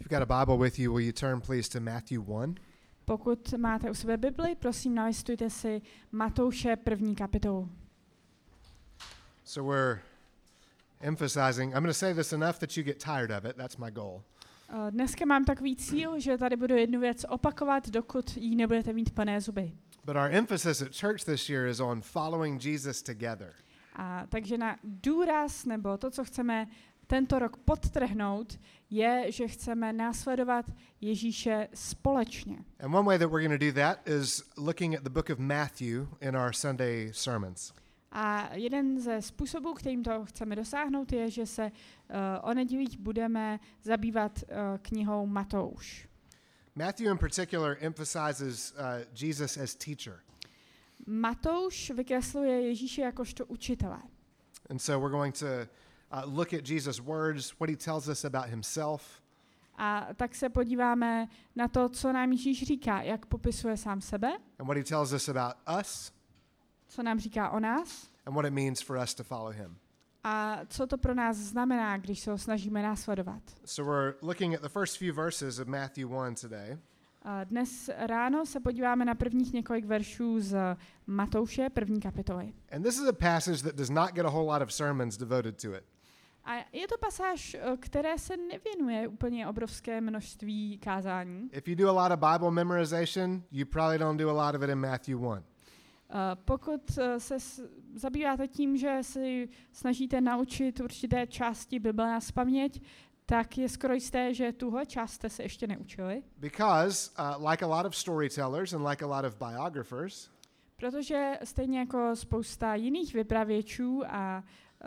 If you've got a Bible with you, will you turn please to Matthew 1? Pokud máte u sebe Bibli, prosím, nalistujte si Matouše 1. kapitolu. So we're emphasizing, I'm going to say this enough that you get tired of it. That's my goal. Dneska mám takový cíl, že tady budu jednu věc opakovat, dokud jí nebudete mít plné zuby. But our emphasis at church this year is on following Jesus together. Takže na důraz, nebo to, co chceme tento rok podtrhnout, je, že chceme následovat Ježíše společně. And one way that we're going to do that is looking at the book of Matthew in our Sunday sermons. A jeden ze způsobů, kterým to chceme dosáhnout, je, že se o nedělích budeme zabývat knihou Matouš. Matthew in particular emphasizes Jesus as teacher. Matouš vykresluje Ježíše jakožto učitele. And so we're going to look at Jesus' words, what he tells us about himself. A tak se podíváme na to, co nám Ježíš říká, jak popisuje sám sebe, And what he tells us about us, co nám říká o nás and what it means for us to follow him. a co to pro nás znamená, když se ho snažíme následovat. So we're looking at the first few verses of Matthew 1 today. Dnes ráno se podíváme na prvních několik veršů z Matouše 1. kapitoly. And this is a passage that does not get a whole lot of sermons devoted to it. A je to pasáž, které se nevěnuje úplně obrovské množství kázání. If you do a lot of Bible memorization, you probably don't do a lot of it in Matthew 1. Pokud se zabýváte tím, že si snažíte naučit určité části Bible nazpaměť, tak je skoro jisté, že tuhle část jste se ještě neučili. Because, like a lot of storytellers and like a lot of biographers, Protože stejně jako spousta jiných vypravěčů a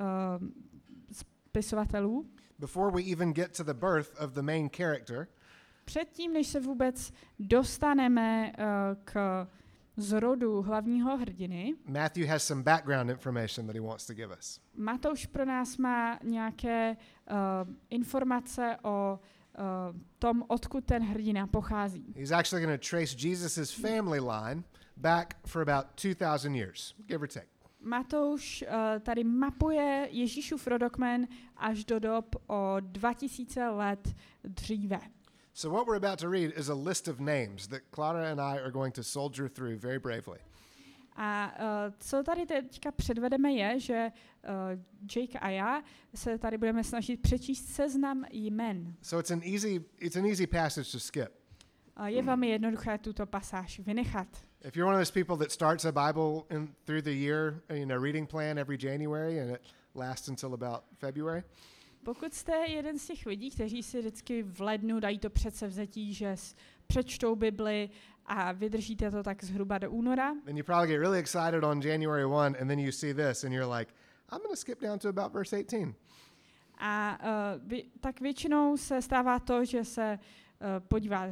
spisovatelů, before we even get to the birth of the main character, předtím, než se vůbec dostaneme k zrodu hlavního hrdiny, Matthew has some background information that he wants to give us. Matouš pro nás má nějaké informace o tom, odkud ten hrdina pochází. He's actually going to trace Jesus' family line back for about 2,000 years, give or take. Matouš tady mapuje Ježíšův rodokmen až do dob o 2000 let dříve. So what we're about to read is a list of names that Clara and I are going to soldier through very bravely. A co tady teďka předvedeme je, že Jake a já se tady budeme snažit přečíst seznam jmen. So it's an easy passage to skip. Je velmi jednoduché tuto pasáž vynechat. If you're one of those people that starts a Bible through the year in a reading plan every January and it lasts until about February, Pokud jste jeden z těch lidí, kteří si vždycky v lednu dají to předsevzetí, že přečtou Bibli a vydržíte to tak zhruba do února, then you probably get really excited on January 1 and then you see this and you're like, I'm going to skip down to about verse 18. a tak většinou se stává to, že se podíváte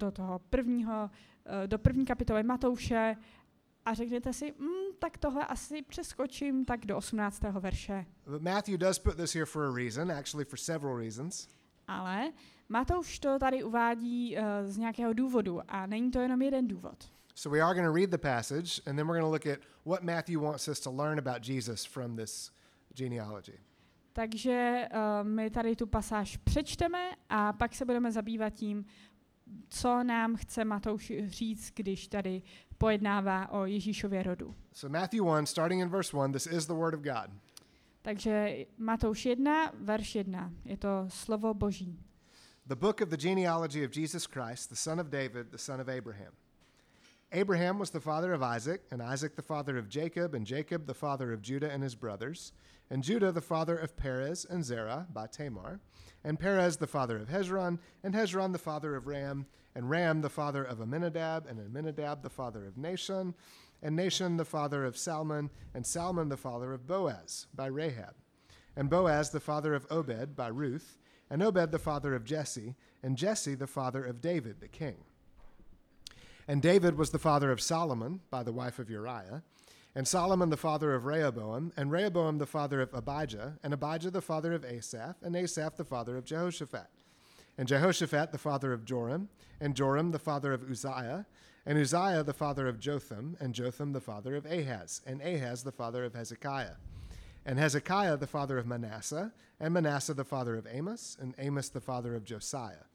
do první kapitoly Matouše a řeknete si, tak tohle asi přeskočím tak do 18. verše. But Matthew does put this here for a reason, actually for several reasons. Ale Matouš to tady uvádí z nějakého důvodu a není to jenom jeden důvod. So we are going to read the passage and then we're going to look at what Matthew wants us to learn about Jesus from this genealogy. Takže my tady tu pasáž přečteme a pak se budeme zabývat tím, co nám chce Matouš říct, když tady pojednává o Ježíšově rodu. So Matthew 1, starting in verse 1, this is the word of God. Takže Matouš 1, verš 1, je to slovo Boží. The book of the genealogy of Jesus Christ, the son of David, the son of Abraham. Abraham was the father of Isaac, and Isaac the father of Jacob, and Jacob the father of Judah and his brothers, and Judah the father of Perez and Zerah by Tamar, and Perez the father of Hezron, and Hezron the father of Ram, and Ram the father of Amminadab, and Amminadab the father of Nahshon, and Nahshon the father of Salmon, and Salmon the father of Boaz by Rahab, and Boaz the father of Obed by Ruth, and Obed the father of Jesse, and Jesse the father of David the king. And David was the father of Solomon by the wife of Uriah, and Solomon the father of Rehoboam, and Rehoboam the father of Abijah, and Abijah the father of Asaph, and Asaph the father of Jehoshaphat, and Jehoshaphat the father of Joram, and Joram the father of Uzziah, and Uzziah the father of Jotham, and Jotham the father of Ahaz, and Ahaz the father of Hezekiah, and Hezekiah the father of Manasseh, and Manasseh the father of Amos, and Amos the father of Josiah,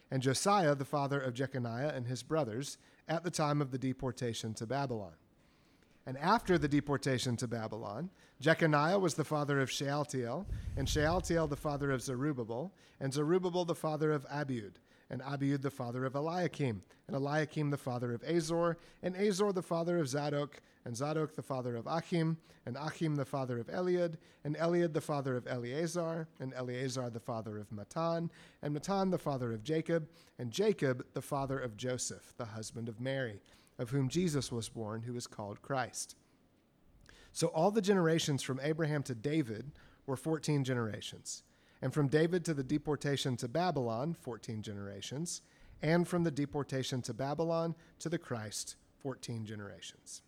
and Josiah the father of Jeconiah and his brothers at the time of the deportation to Babylon. And after the deportation to Babylon, Jeconiah was the father of Shealtiel, and Shealtiel the father of Zerubbabel, and Zerubbabel the father of Abiud, and Abiud the father of Eliakim, and Eliakim the father of Azor, and Azor the father of Zadok, and Zadok the father of Achim, and Achim the father of Eliud, and Eliud the father of Eleazar, and Eleazar the father of Matan, and Matan the father of Jacob, and Jacob the father of Joseph, the husband of Mary, of whom Jesus was born, who is called Christ. So all the generations from Abraham to David were 14 generations, and from David to the deportation to Babylon, 14 generations, and from the deportation to Babylon to the Christ, 14 generations.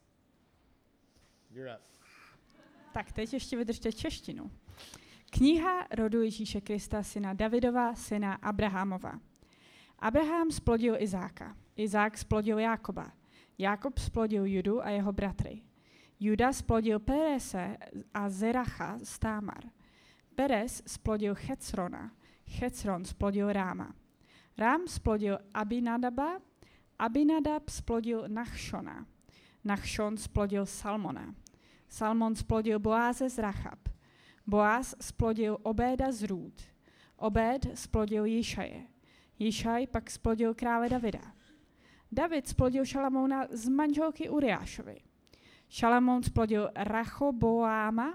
You're up. Tak teď ještě vydržte češtinu. Kniha rodu Ježíše Krista, syna Davidova, syna Abrahamova. Abraham splodil Izáka. Izák splodil Jákoba. Jákob splodil Judu a jeho bratry. Juda splodil Perese a Zeracha z Támar. Perez splodil Checrona. Checron splodil Ráma. Rám splodil Abinadaba. Abinadab splodil Nachšona. Nachšon splodil Salmona. Salmon splodil Boáze z Rachab. Boáz splodil Obéda z Růd. Obéd splodil Jišaje. Jišaj pak splodil krále Davida. David splodil Šalamouna z manželky Uriášovi. Šalamoun splodil Rechoboáma.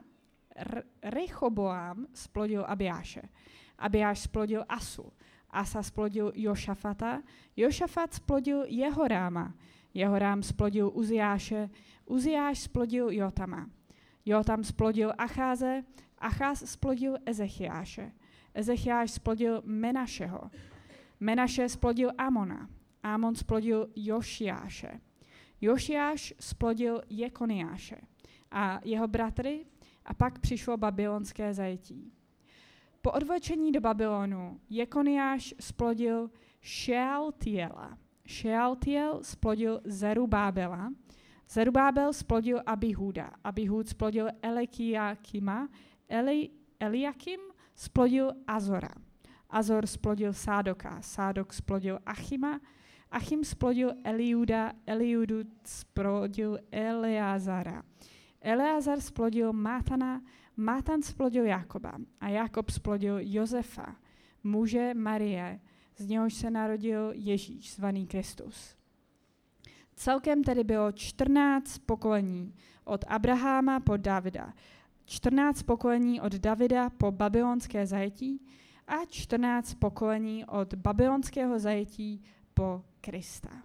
Rechoboám splodil Abiáše. Abiáš splodil Asu. Asa splodil Jošafata. Jošafat splodil Jehoráma. Jehorám splodil Uziáše. Uziáš splodil Jotama. Jotam splodil Acháze. Acház splodil Ezechiáše. Ezechiáš splodil Menašeho. Menaše splodil Amona. Amon splodil Jošiáše. Jošiáš splodil Jekoniáše a jeho bratry, a pak přišlo babylonské zajetí. Po odvlečení do Babylonu Jekoniáš splodil Šealtiela. Šealtiel splodil Zerubábela. Zerubábel splodil Abihúda. Abihúd splodil Eliakima. Eliakim splodil Azora. Azor splodil Sádoka. Sádok splodil Achima. Achim splodil Eliuda. Eliudu splodil Eleazara. Eleazar splodil Mátana. Mátan splodil Jákoba. A Jákob splodil Josefa, muže Marie, z něhož se narodil Ježíš, zvaný Kristus. Celkem tedy bylo 14 pokolení od Abraháma po Davida, 14 pokolení od Davida po babylonské zajetí a 14 pokolení od babylonského zajetí po Krista.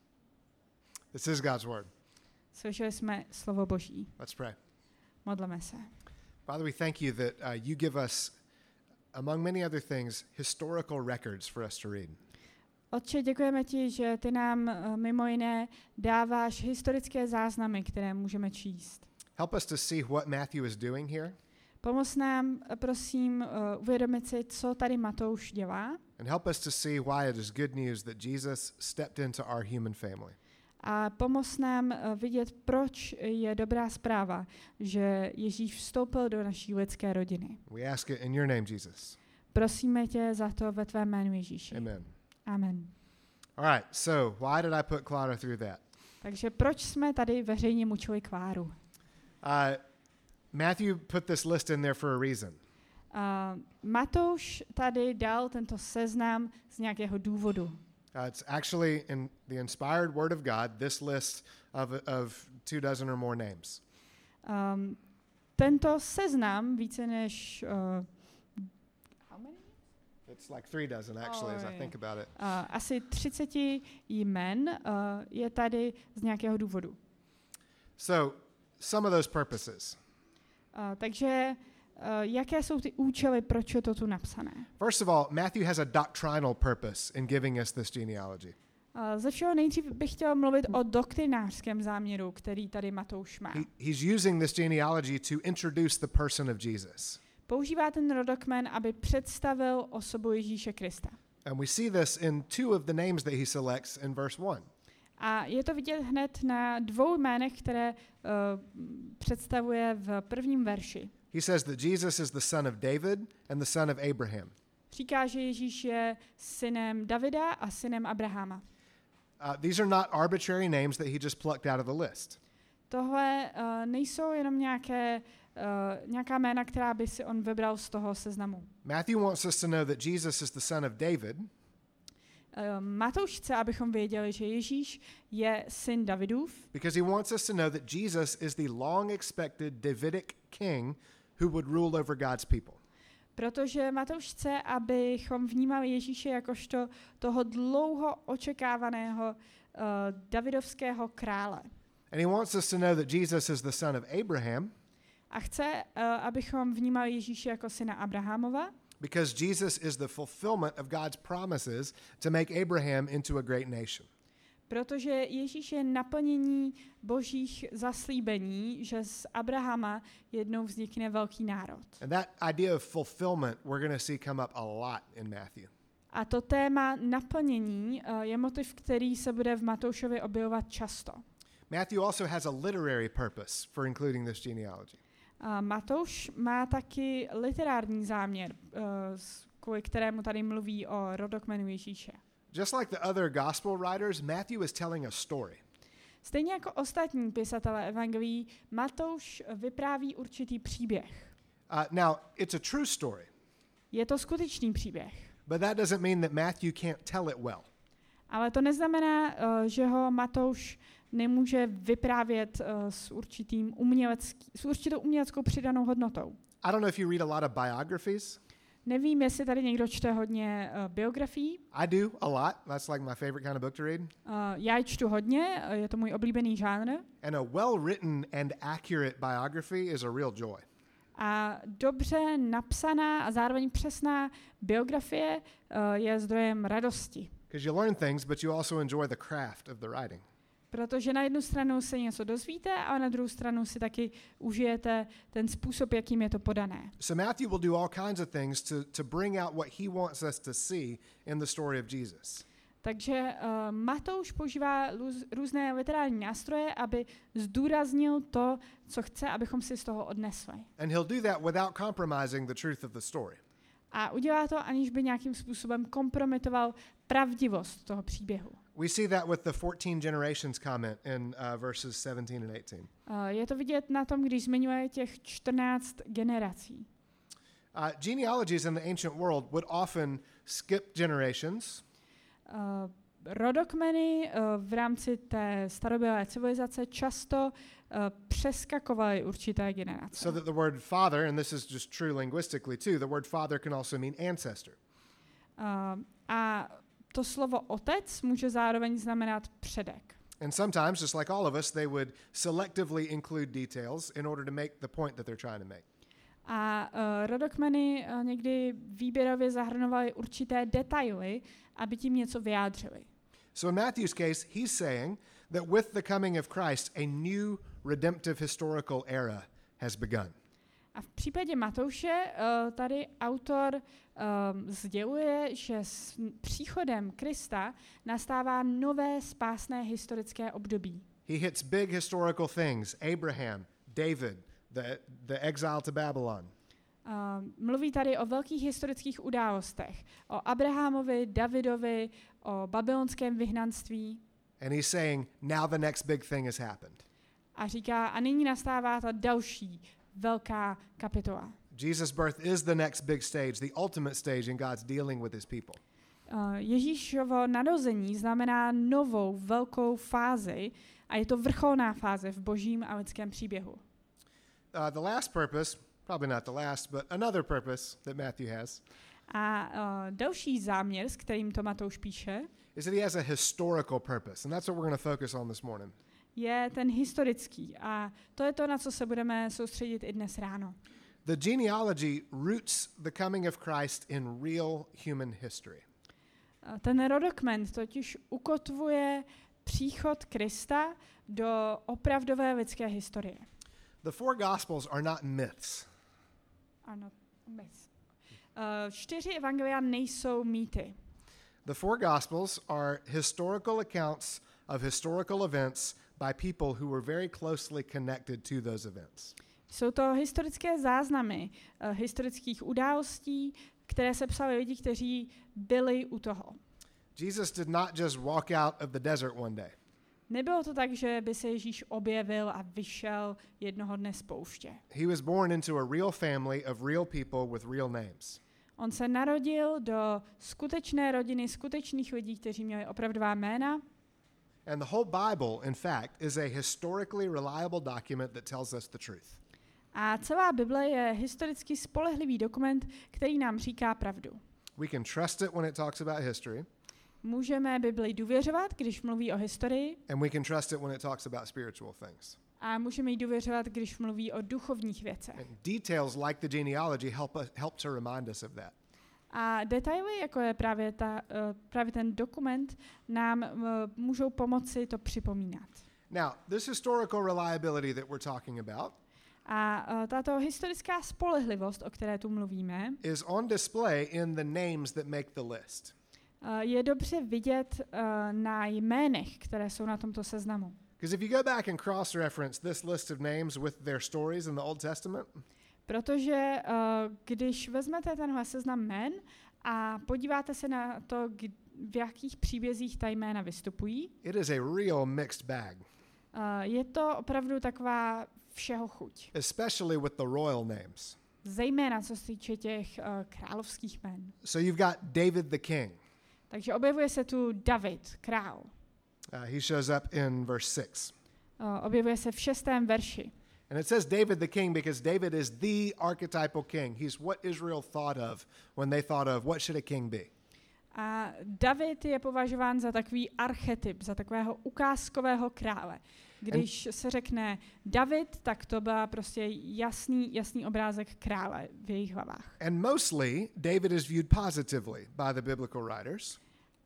This is God's word. Slyšeli jsme slovo Boží. Let's pray. Modleme se. Father, we thank you that you give us, among many other things, historical records for us to read. Otče, děkujeme ti, že ty nám mimo jiné dáváš historické záznamy, které můžeme číst. Help us to see what Matthew is doing here. Pomoz nám, prosím, uvědomit si, co tady Matouš dělá. And help us to see why it is good news that Jesus stepped into our human family. A pomoz nám vidět, proč je dobrá zpráva, že Ježíš vstoupil do naší lidské rodiny. We ask it in your name, Jesus. Prosíme tě za to ve tvém jménu, Ježíši. Amen. Amen. All right, so why did I put Clara through that? Takže proč jsme tady veřejně mučili Kláru? Matthew put this list in there for a reason. Matouš tady dal tento seznam z nějakého důvodu. It's actually in the inspired word of God, this list of 24 or more names. Tento seznam více než how many? It's like 36 actually, as I think about it. Asi 30 jmen je tady z nějakého důvodu. So, some of those purposes. Takže jaké jsou ty účely, proč je to tu napsané? First of all, Matthew has a doctrinal purpose in giving us this genealogy. Ze všeho nejdřív bych chtěl mluvit o doktrinářském záměru, který tady Matouš má. He's using this genealogy to introduce the person of Jesus. Používá ten rodokmen, aby představil osobu Ježíše Krista. And we see this in two of the names that he selects in verse 1. A je to vidět hned na dvou jménech, které představuje v prvním verši. He says that Jesus is the son of David and the son of Abraham. Říká, že Ježíš je synem Davida a synem Abrahama. These are not arbitrary names that he just plucked out of the list. Tohle nejsou jenom nějaká jména, která by si on vybral z toho seznamu. Matthew wants us to know that Jesus is the son of David Matouš chce, abychom věděli, že Ježíš je syn Davidův, because he wants us to know that Jesus is the long-expected Davidic king who would rule over God's people. protože Matouš chce, abychom vnímali Ježíše jakožto toho dlouho očekávaného davidovského krále. And he wants us to know that Jesus is the son of Abraham A chce, abychom vnímali Ježíše jako syna Abrahamova, because Jesus is the fulfillment of God's promises to make Abraham into a great nation. protože Ježíš je naplnění božích zaslíbení, že z Abrahama jednou vznikne velký národ. And that idea of fulfillment we're going to see come up a lot in Matthew. A to téma naplnění je motiv, který se bude v Matoušově objevovat často. Matthew also has a literary purpose for including this genealogy. Matouš má taky literární záměr, kvůli kterému tady mluví o rodokmenu Ježíše. Just like the other gospel writers, Matthew is telling a story. Stejně jako ostatní pisatelé evangelií, Matouš vypráví určitý příběh. Now, it's a true story, Je to skutečný příběh, but that doesn't mean that Matthew can't tell it well. ale to neznamená, že ho Matouš nemůže vyprávět s určitou uměleckou přidanou hodnotou. I don't know if you read a lot of biographies. Nevím, jestli tady někdo čte hodně biografií. I do a lot. That's like my favorite kind of book to read. Já ji čtu hodně, je to můj oblíbený žánr. And a well-written and accurate biography is a real joy. A dobře napsaná a zároveň přesná biografie je zdrojem radosti. Because you learn things, but you also enjoy the craft of the writing. Protože na jednu stranu se něco dozvíte a na druhou stranu si taky užijete ten způsob, jakým je to podané. So Matthew will do all kinds of things to bring out what he wants us to see in the story of Jesus. Takže Matouš používá různé literární nástroje, aby zdůraznil to, co chce, abychom si z toho odnesli. And he'll do that without compromising the truth of the story. A udělá to, aniž by nějakým způsobem kompromitoval pravdivost toho příběhu. We see that with the 14 generations comment in verses 17 and 18. Je to vidět na tom, když zmiňuje těch 14 generací. Genealogies in the ancient world would often skip generations. Rodokmeny v rámci té starobylé civilizace často přeskakovaly určité generace. So that the word father, and this is just true linguistically too, the word father can also mean ancestor. A to slovo otec může zároveň znamenat předek. And sometimes, just like all of us, they would selectively include details in order to make the point that they're trying to make. A rodokmeny někdy výběrově zahrnovaly určité detaily, aby tím něco vyjádřili. So in Matthew's case, he's saying that with the coming of Christ, a new redemptive historical era has begun. A v případě Matouše tady autor sděluje, že s příchodem Krista nastává nové spásné historické období. He hits big historical things, Abraham, David, the exile to Babylon. Mluví tady o velkých historických událostech, o Abrahamovi, Davidovi, o babylonském vyhnanství. And he's saying, now the next big thing has happened. A říká, a nyní nastává ta další velká kapitola. Jesus' birth is the next big stage, the ultimate stage in God's dealing with his people. Ježíšovo narození znamená novou velkou fázi a je to vrcholná fáze v božím a lidském příběhu. The last purpose, probably not the last, but another purpose that Matthew has, a další záměr, s kterým to Matouš píše, is that he has a historical purpose, and that's what we're going to focus on this morning. Je ten historický a to je to, na co se budeme soustředit i dnes ráno. The genealogy roots the coming of Christ in real human history. Ten rodokmen totiž ukotvuje příchod Krista do opravdové lidské historie. The four Gospels are not myths. Ano, myths. 4 evangelia nejsou mýty. The four Gospels are historical accounts of historical events by people who were very closely connected to those events. Jsou to historické záznamy historických událostí, které se psaly lidi, kteří byli u toho. Jesus did not just walk out of the desert one day. Nebylo to tak, že by se Ježíš objevil a vyšel jednoho dne z pouště. He was born into a real family of real people with real names. On se narodil do skutečné rodiny, skutečných lidí, kteří měli opravdová jména. And the whole Bible, in fact, is a historically reliable document that tells us the truth. A celá Bible je historicky spolehlivý dokument, který nám říká pravdu. We can trust it when it talks about history, Můžeme Bibli důvěřovat, když mluví o historii, and we can trust it when it talks about spiritual things. a můžeme jí důvěřovat, když mluví o duchovních věcech. And details like the genealogy help to remind us of that. A detaily, jako je právě ten dokument, nám můžou pomoci to připomínat. Now, this historical reliability that we're talking about A tato historická spolehlivost, o které tu mluvíme, is on display in the names that make the list. je dobře vidět na jménech, které jsou na tomto seznamu. Because if you go back and cross-reference this list of names with their stories in the Old Testament, Protože když vezmete tenhle seznam jmén a podíváte se na to, v jakých příbězích ta jména vystupují, it is a real mixed bag, je to opravdu taková všeho chuť. especially with the royal names. Zejména co se týče těch královských jmén. So you've got David the king. Takže objevuje se tu David, král. He shows up in verse 6. Objevuje se v 6. verši. And it says David the king because David is the archetypal king. He's what Israel thought of when they thought of what should a king be. A David je považován za takový archetyp, za takového ukázkového krále. Když se řekne David, tak to byl prostě jasný obrázek krále v jejich hlavách. And mostly David is viewed positively by the biblical writers.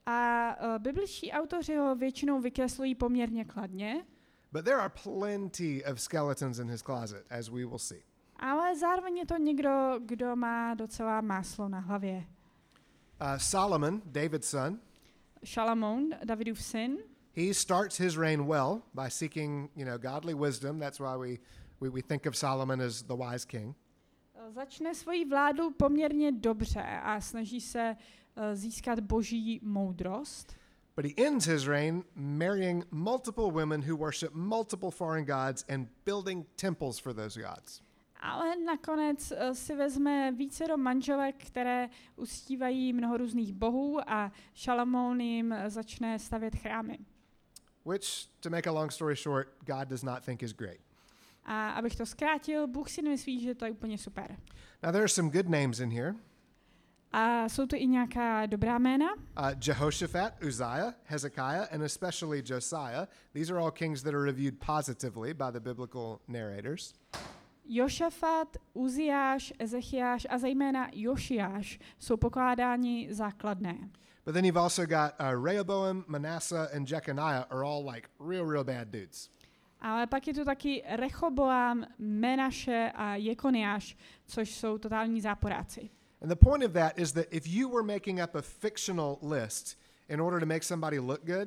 A bibličtí autoři ho většinou vykreslují poměrně kladně, But there are plenty of skeletons in his closet, as we will see. ale zároveň je to někdo, kdo má docela máslo na hlavě. Solomon, David's son, Šalamoun, Davidův syn, he starts his reign well by seeking, godly wisdom. That's why we think of Solomon as the wise king. začne svoji vládu poměrně dobře a snaží se získat boží moudrost. But he ends his reign marrying multiple women who worship multiple foreign gods and building temples for those gods. Ale nakonec si vezme vícero manželek, které uctívají mnoho různých bohů a Šalamoun jim začne stavět chrámy. Which, to make a long story short, God does not think is great. A abych to zkrátil, Bůh si nemyslí, že to je úplně super. Now there are some good names in here. A jsou tu i nějaká dobrá jména. Jehoshaphat, Uzziah, Hezekiah, and especially Josiah. These are all kings that are reviewed positively by the biblical narrators. Jošafat, Uziáš, Ezechiáš a zejména Jošiáš jsou pokládáni za kladné. But then you've also got Rehoboam, Manasseh, and Jeconiah are all like real bad dudes. Ale pak je tu taky Rechoboam, Menaše a Jekoniáš, což jsou totální záporáci. And the point of that is that if you were making up a fictional list in order to make somebody look good,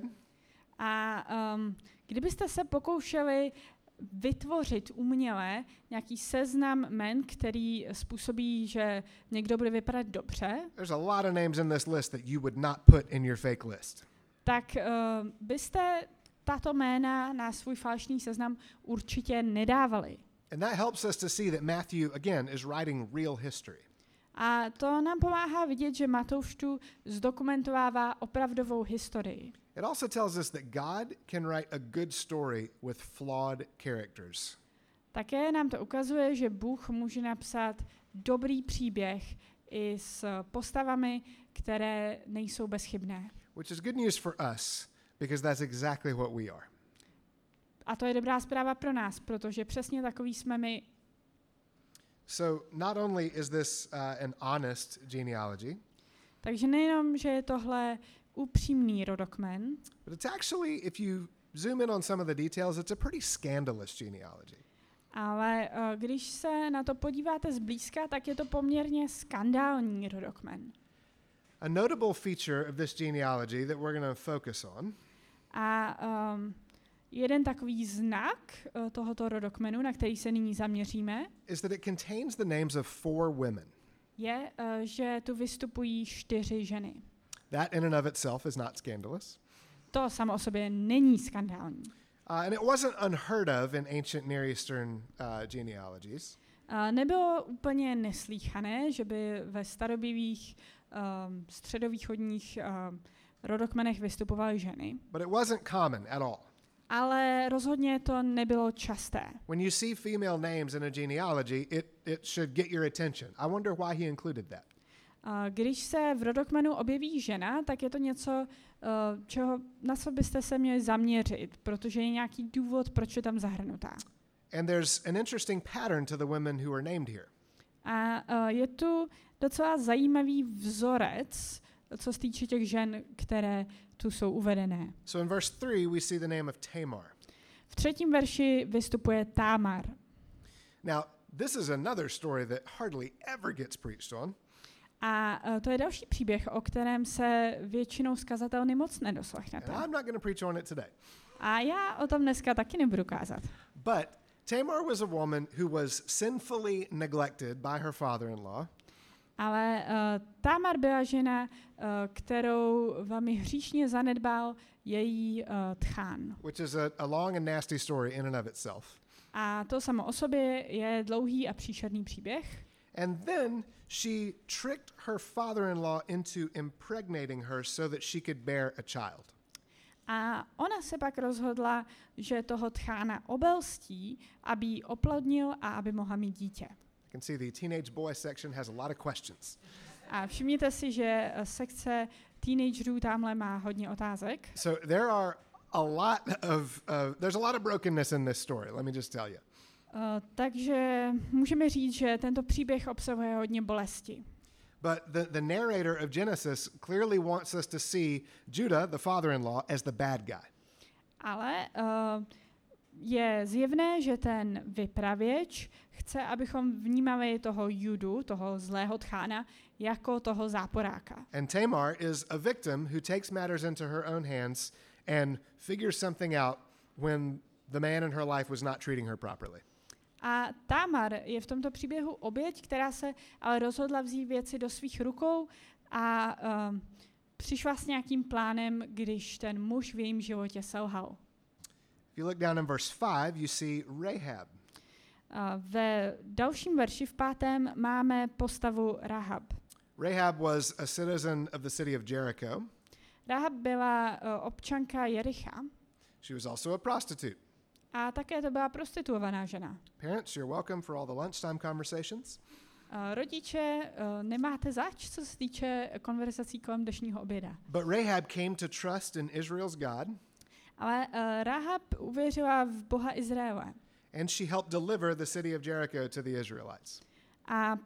A kdybyste se pokoušeli vytvořit uměle nějaký seznam jmen, který způsobí, že někdo bude vypadat dobře, there's a lot of names in this list that you would not put in your fake list. tak byste tato jména na svůj falešný seznam určitě nedávali. And that helps us to see that Matthew, again, is writing real history. A to nám pomáhá vidět, že Matouš tu zdokumentovává opravdovou historii. It also tells us that God can write a good story with flawed characters. Také nám to ukazuje, že Bůh může napsat dobrý příběh i s postavami, které nejsou bezchybné. Which is good news for us, because that's exactly what we are. A to je dobrá zpráva pro nás, protože přesně takový jsme my. So not only is this an honest genealogy, Takže nejenom, že je tohle upřímný rodokmen, but it's actually, if you zoom in on some of the details, it's a pretty scandalous genealogy. ale když se na to podíváte zblízka, tak je to poměrně skandální rodokmen. A notable feature of this genealogy that we're going to focus on A jeden takový znak tohoto rodokmenu, na který se nyní zaměříme, is that it contains the names of 4 women. je, že tu vystupují 4 ženy. That in and of itself is not scandalous. To samo o sobě není skandální. And it wasn't unheard of in ancient Near Eastern genealogies. Nebylo úplně neslýchané, že by ve starobylých středovýchodních rodokmenech vystupovaly ženy. But it wasn't common at all. Ale rozhodně to nebylo časté. When you see female names in a genealogy, it should get your attention. I wonder why he included that. Když se v rodokmenu objeví žena, tak je to něco, na co byste se měli zaměřit, protože je nějaký důvod, proč je tam zahrnutá. And there's an interesting pattern to the women who are named here. A je tu docela zajímavý vzorec, co se týče těch žen, které tu jsou uvedené. So in verse 3 we see the name of Tamar. V 3. verši vystupuje Támar. Now, this is another story that hardly ever gets preached on. A to je další příběh, o kterém se většinou z kazatelny moc nedoslechnete. And I'm not going to preach on it today. A já o tom dneska taky nebudu kázat. But Tamar was a woman who was sinfully neglected by her father-in-law. Ale Támar byla žena, kterou velmi hříšně zanedbal její tchán. Which is a long and nasty story in and of itself. A to samo o sobě je dlouhý a příšerný příběh. And then she tricked her father-in-law into impregnating her so that she could bear a child. A ona se pak rozhodla, že toho tchána obelstí, aby ji oplodnil a aby mohla mít dítě. You can see the teenage boy section has a lot of questions. A všimněte si, že sekce teenagerů tamhle má hodně otázek. So there are a lot of there's a lot of brokenness in this story. Let me just tell you. Takže můžeme říct, že tento příběh obsahuje hodně bolesti. But the narrator of Genesis clearly wants us to see Judah, the father-in-law, as the bad guy. Ale je zjevné, že ten vypravěč chce, abychom vnímali toho Judu, toho zlého tchána, jako toho záporáka. And Tamar is a victim who takes matters into her own hands and figures something out when the man in her life was not treating her properly. A Támar je v tomto příběhu oběť, která se ale rozhodla vzít věci do svých rukou a přišla s nějakým plánem, když ten muž v jejím životě selhal. If you look down in verse 5, you see Rahab. Ve dalším verši v 5. máme postavu Rahab. Rahab was a citizen of the city of Jericho. Rahab byla občanka Jericha. She was also a prostitute. A také to byla prostituovaná žena. Parents, you're welcome for all the lunchtime conversations. Rodiče, nemáte zač, co se týče konverzací kolem dnešního oběda. But Rahab came to trust in Israel's God. Ale Rahab uvěřila v Boha Izraele. And she helped deliver the city of Jericho to the Israelites. A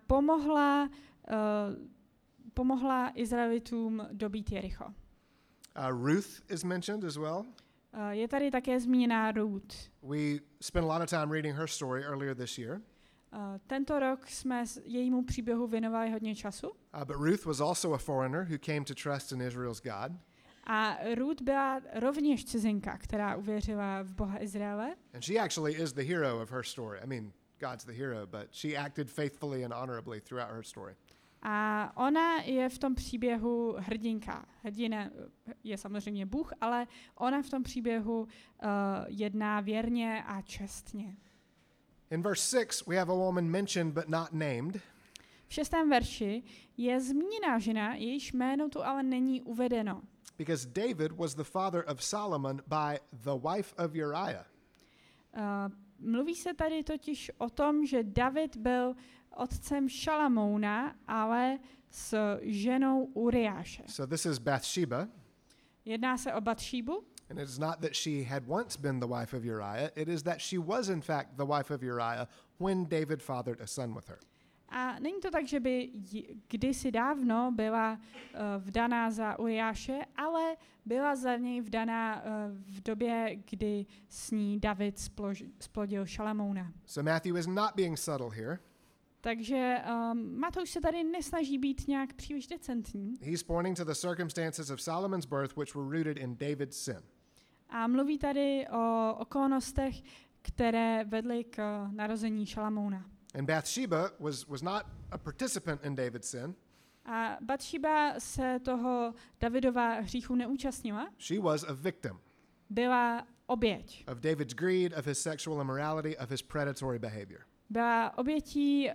pomohla Izraelitům dobít Jericho. Ruth is mentioned as well. Je tady také zmíněná Ruth. We spent a lot of time reading her story earlier this year. Tento rok jsme jejímu příběhu věnovali hodně času. But Ruth was also a foreigner who came to trust in Israel's God. A Ruth byla rovněž cizinka, která uvěřila v Boha Izraele. And she actually is the hero of her story. I mean, God's the hero, but she acted faithfully and honorably throughout her story. A ona je v tom příběhu hrdinka. Hrdina je samozřejmě Bůh, ale ona v tom příběhu jedná věrně a čestně. In verse 6, we have a woman mentioned but not named. V 6. verši je zmíněná žena, jejíž jméno tu ale není uvedeno. Because David was the father of Solomon by the wife of Uriah. Mluví se tady totiž o tom, že David byl otcem Šalamouna, ale s ženou Uriáše. So this is Bathsheba. Jedná se o Batšíbu. And it is not that she had once been the wife of Uriah, it is that she was in fact the wife of Uriah when David fathered a son with her. A není to tak, že by kdysi dávno byla vdaná za Uriáše, ale byla za něj vdaná v době, kdy s ní David splodil Šalamouna. So Matthew is not being subtle here. Takže Matouš se tady nesnaží být nějak příliš decentní. He's pointing to the circumstances of Solomon's birth which were rooted in David's sin. A mluví tady o okolnostech, které vedly k narození Šalamouna. And Bathsheba was not a participant in David's sin. A Batšíba se toho Davidova hříchu neúčastnila. She was a victim Byla oběť. of David's greed, of his sexual immorality, of his predatory behavior. Byla obětí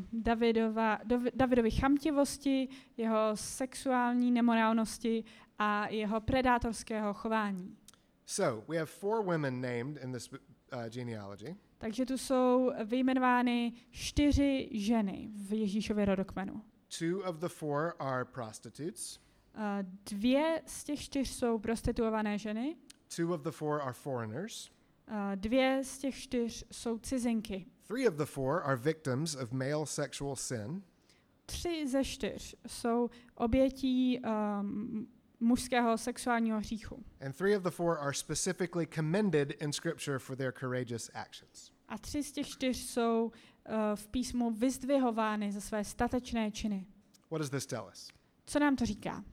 Davidovy chamtivosti, jeho sexuální nemorálnosti a jeho predátorského chování. So, we have 4 women named in this genealogy. Takže tu jsou vyjmenovány 4 ženy v Ježíšově rodokmenu. 2 of the 4 are prostitutes. 2 z těch 4 jsou prostituované ženy. 2 of the 4 are foreigners. 2 z těch 4 jsou cizinky. 3 of the 4 are victims of male sexual sin. 3 ze 4 jsou obětí mužského sexuálního hříchu. And 3 of the 4 are specifically commended in Scripture for their courageous actions. A 3 z těch 4 jsou v písmu vyzdvihovány za své statečné činy. What does this tell us? Co nám to říká?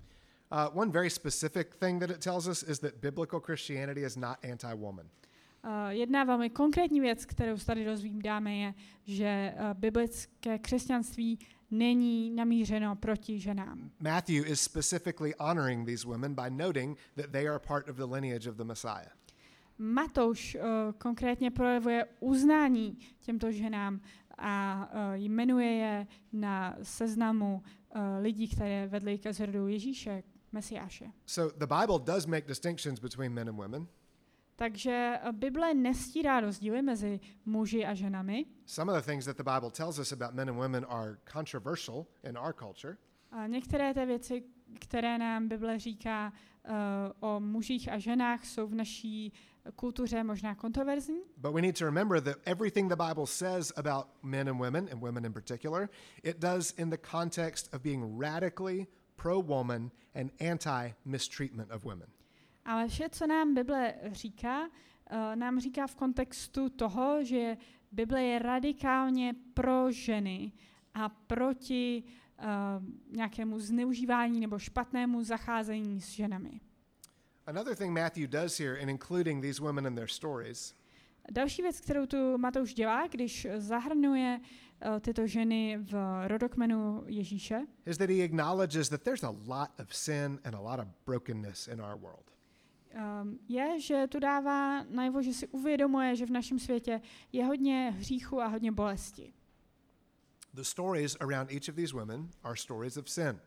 One very specific thing that it tells us is that biblical Christianity is not anti-woman. Jedna velmi konkrétní věc, kterou tady dozvídáme, je, že biblické křesťanství není namířeno proti ženám. Matthew is specifically honoring these women by noting that they are part of the lineage of the Messiah. Matouš konkrétně projevuje uznání těmto ženám a jmenuje je na seznamu lidí, které vedly ke zrodu Ježíše, Mesiáše. So the Bible does make distinctions between men and women. Takže Bible nestírá rozdíly mezi muži a ženami. Some of the things that the Bible tells us about men and women are controversial in our culture. A některé té věci, které nám Bible říká o mužích a ženách, jsou v naší kultuře možná kontroverzní. But we need to remember that everything the Bible says about men and women in particular, it does in the context of being radically pro-woman and anti-mistreatment of women. Ale vše, co nám Bible říká, nám říká v kontextu toho, že Bible je radikálně pro ženy a proti nějakému zneužívání nebo špatnému zacházení s ženami. Another thing Matthew does here in including these women in their stories Další věc, kterou tu Matouš dělá, když zahrnuje tyto ženy v rodokmenu Ježíše, is that he acknowledges that there's a lot of sin and a lot of brokenness in our world. Je, že tu dává najevo, že si uvědomuje, že v našem světě je hodně hříchu a hodně bolesti. The stories around each of these women are stories of sin.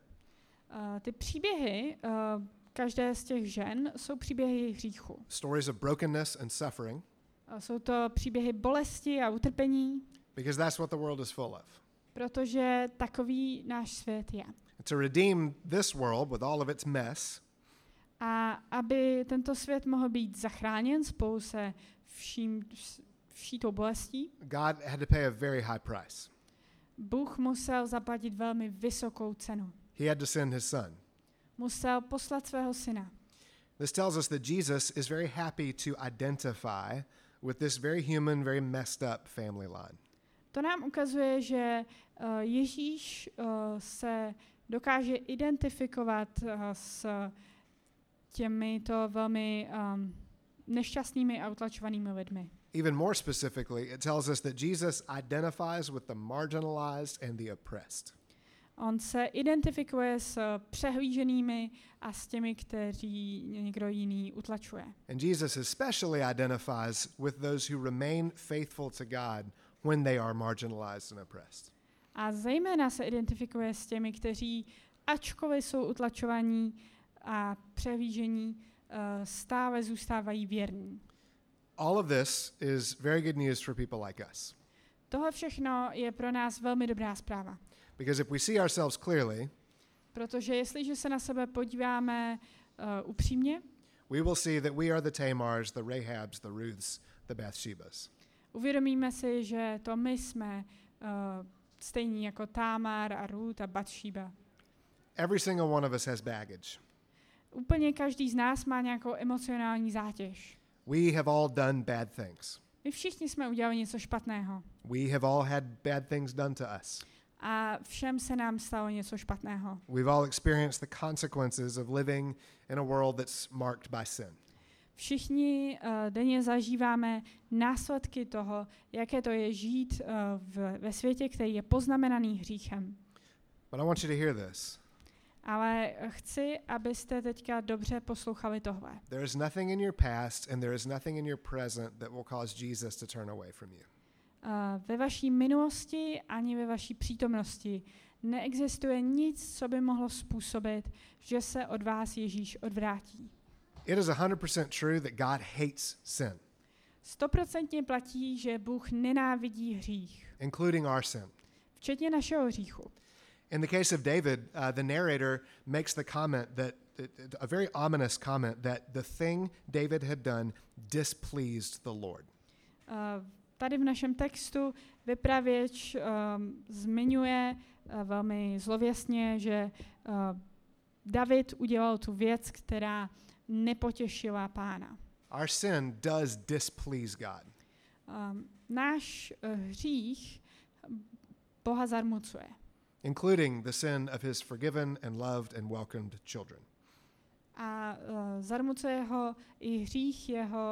Ty příběhy každé z těch žen jsou příběhy hříchu. Stories of brokenness and suffering. Jsou to příběhy bolesti a utrpení, Because that's what the world is full of. protože takový náš svět je. To redeem this world with all of its mess, A aby tento svět mohl být zachráněn spolu se vší tou bolestí, God had to pay a very high price. Bůh musel zaplatit velmi vysokou cenu. He had to send his son. Musel poslat svého syna. This tells us that Jesus is very happy to identify with this very human, very messed up family line. To nám ukazuje, že Ježíš se dokáže identifikovat s těmito velmi nešťastnými a utlačovanými lidmi. Even more specifically, it tells us that Jesus identifies with the marginalized and the oppressed. On se identifikuje s přehlíženými a s těmi, kteří někdo jiný utlačuje. And Jesus especially identifies with those who remain faithful to God when they are marginalized and oppressed. A zejména se identifikuje s těmi, kteří, ačkoliv jsou utlačovaní a přehlížení, stále zůstávají věrní. All of this is very good news for people like us. Tohle všechno je pro nás velmi dobrá zpráva. Because if we see ourselves clearly, Protože jestliže se na sebe podíváme upřímně, we will see that we are the Tamars, the Rahabs, the Ruths, the Bathshebas. uvědomíme si, že to my jsme stejní jako Támar a Ruth a Batšíba. Every single one of us has baggage. Úplně každý z nás má nějakou emocionální zátěž. We have all done bad things. My všichni jsme udělali něco špatného. We have all had bad things done to us. A všem se nám stalo něco špatného. We've all experienced the consequences of living in a world that's marked by sin. Všichni denně zažíváme následky toho, jaké to je žít ve světě, který je poznamenaný hříchem. But I want you to hear this. Ale chci, abyste teďka dobře poslouchali tohle. There is nothing in your past and there is nothing in your present that will cause Jesus to turn away from you. Ve vaší minulosti ani ve vaší přítomnosti neexistuje nic, co by mohlo způsobit, že se od vás Ježíš odvrátí. It is 100% true that God hates sin, 100% platí, že Bůh nenávidí hřích, including our sin. včetně našeho hříchu. In the case of David, the narrator makes the comment that a very ominous comment that the thing David had done displeased the Lord. Tady v našem textu vypravěč zmiňuje velmi zlověstně, že David udělal tu věc, která nepotěšila Pána. Our sin does displease God. Náš hřích Boha zarmucuje. Including the sin of his forgiven and loved and welcomed children. A zarmucuje ho i hřích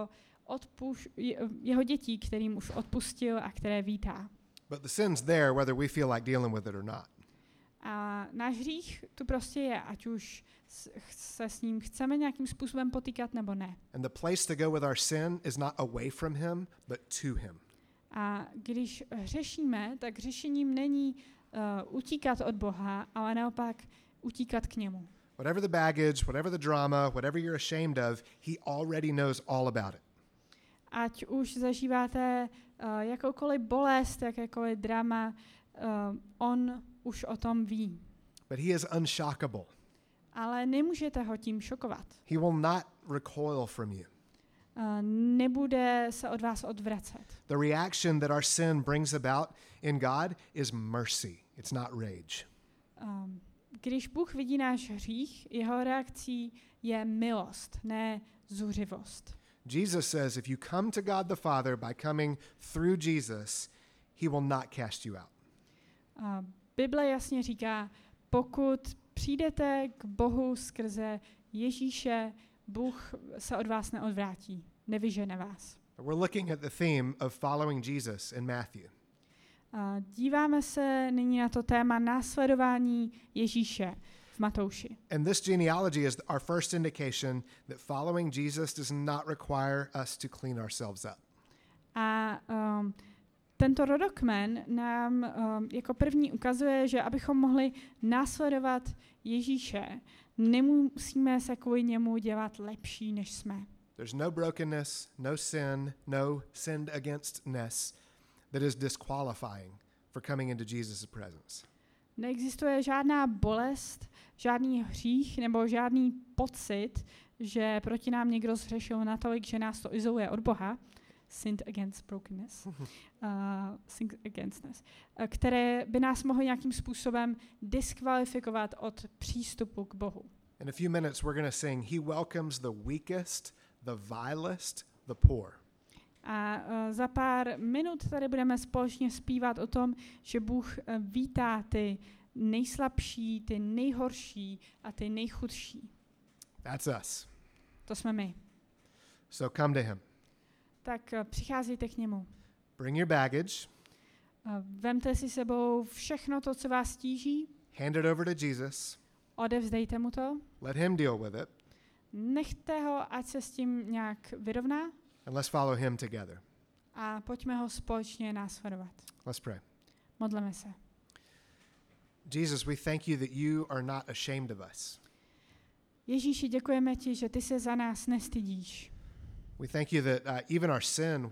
jeho dětí, kterým už odpustil a které vítá. But the sin's there whether we feel like dealing with it or not. A náš hřích tu prostě je, ať už se s ním chceme nějakým způsobem potýkat nebo ne. And the place to go with our sin is not away from him, but to him. A když hřešíme, tak řešením není utíkat od Boha, ale naopak utíkat k němu. Whatever the baggage, whatever the drama, whatever you're ashamed of, he already knows all about it. Ať už zažíváte jakoukoliv bolest, jakékoliv drama, on už o tom ví. But he is unshockable. Ale nemůžete ho tím šokovat. He will not recoil from you. Nebude se od vás odvracet. The reaction that our sin brings about in God is mercy. It's not rage. Když Bůh vidí náš hřích, jeho reakcí je milost, ne zuřivost. Jesus says if you come to God the Father by coming through Jesus, he will not cast you out. Bible jasně říká, pokud přijdete k Bohu skrze Ježíše, Bůh se od vás neodvrátí, nevyžene vás. We're looking at the theme of following Jesus in Matthew. Díváme se nyní na to téma následování Ježíše v Matouši. And this genealogy is our first indication that following Jesus does not require us to clean ourselves up. A tento rodokmen nám jako první ukazuje, že abychom mohli následovat Ježíše, nemusíme se kvůli němu dělat lepší, než jsme. There's no brokenness, no sin, no sinned againstness that is disqualifying for coming into Jesus' presence. Neexistuje žádná bolest, žádný hřích nebo žádný pocit, že proti nám někdo zhřešil natolik, že nás to izoluje od Boha, sinned against brokenness, sinned againstness, které by nás mohly nějakým způsobem diskvalifikovat od přístupu k Bohu. In a few minutes we're going to sing, He welcomes the weakest, the vilest, the poor. A za pár minut tady budeme společně zpívat o tom, že Bůh vítá ty nejslabší, ty nejhorší a ty nejchudší. That's us. To jsme my. So come to him. Tak přicházejte k němu. Bring your baggage. Vemte si sebou všechno to, co vás tíží. Hand it over to Jesus. Odevzdejte mu to. Let him deal with it. Nechte ho, ať se s tím nějak vyrovná. And let's follow him together. A pojďme ho společně následovat. Let's pray. Modleme se. Jesus, we thank you that you are not ashamed of us. Ježíši, děkujeme ti, že ty se za nás nestydíš. We thank you that even our sin,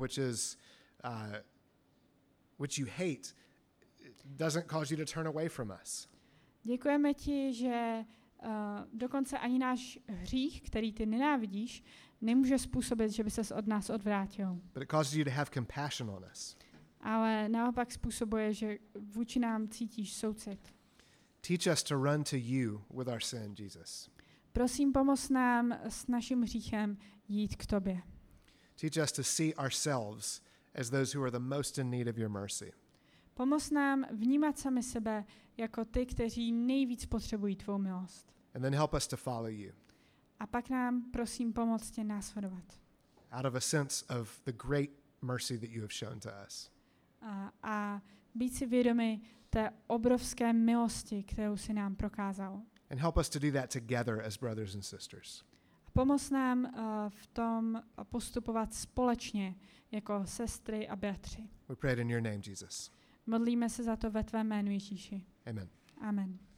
which you hate, doesn't cause you to turn away from us. Děkujeme ti, že dokonce ani náš hřích, který ty nenávidíš, nemůže způsobit, že by ses od nás odvrátil. But it causes you to have compassion on us. Ale naopak způsobuje, že vůči nám cítíš soucit. Teach us to run to you with our sin, Jesus. Prosím, pomoz nám s naším hříchem jít k tobě. Teach us to see ourselves as those who are the most in need of your mercy. Pomoz nám vnímat sami sebe jako ty, kteří nejvíc potřebují tvou milost. And then help us to follow you. A pak nám, prosím, pomoc tě následovat. out of a sense of the great mercy that you have shown to us. A být si vědomi té obrovské milosti, kterou si nám prokázal. And help us to do that together as brothers and sisters. Pomoz nám v tom postupovat společně jako sestry a bratři. We pray it in your name, Jesus. Modlíme se za to ve tvém jménu, Ježíši. Amen. Amen.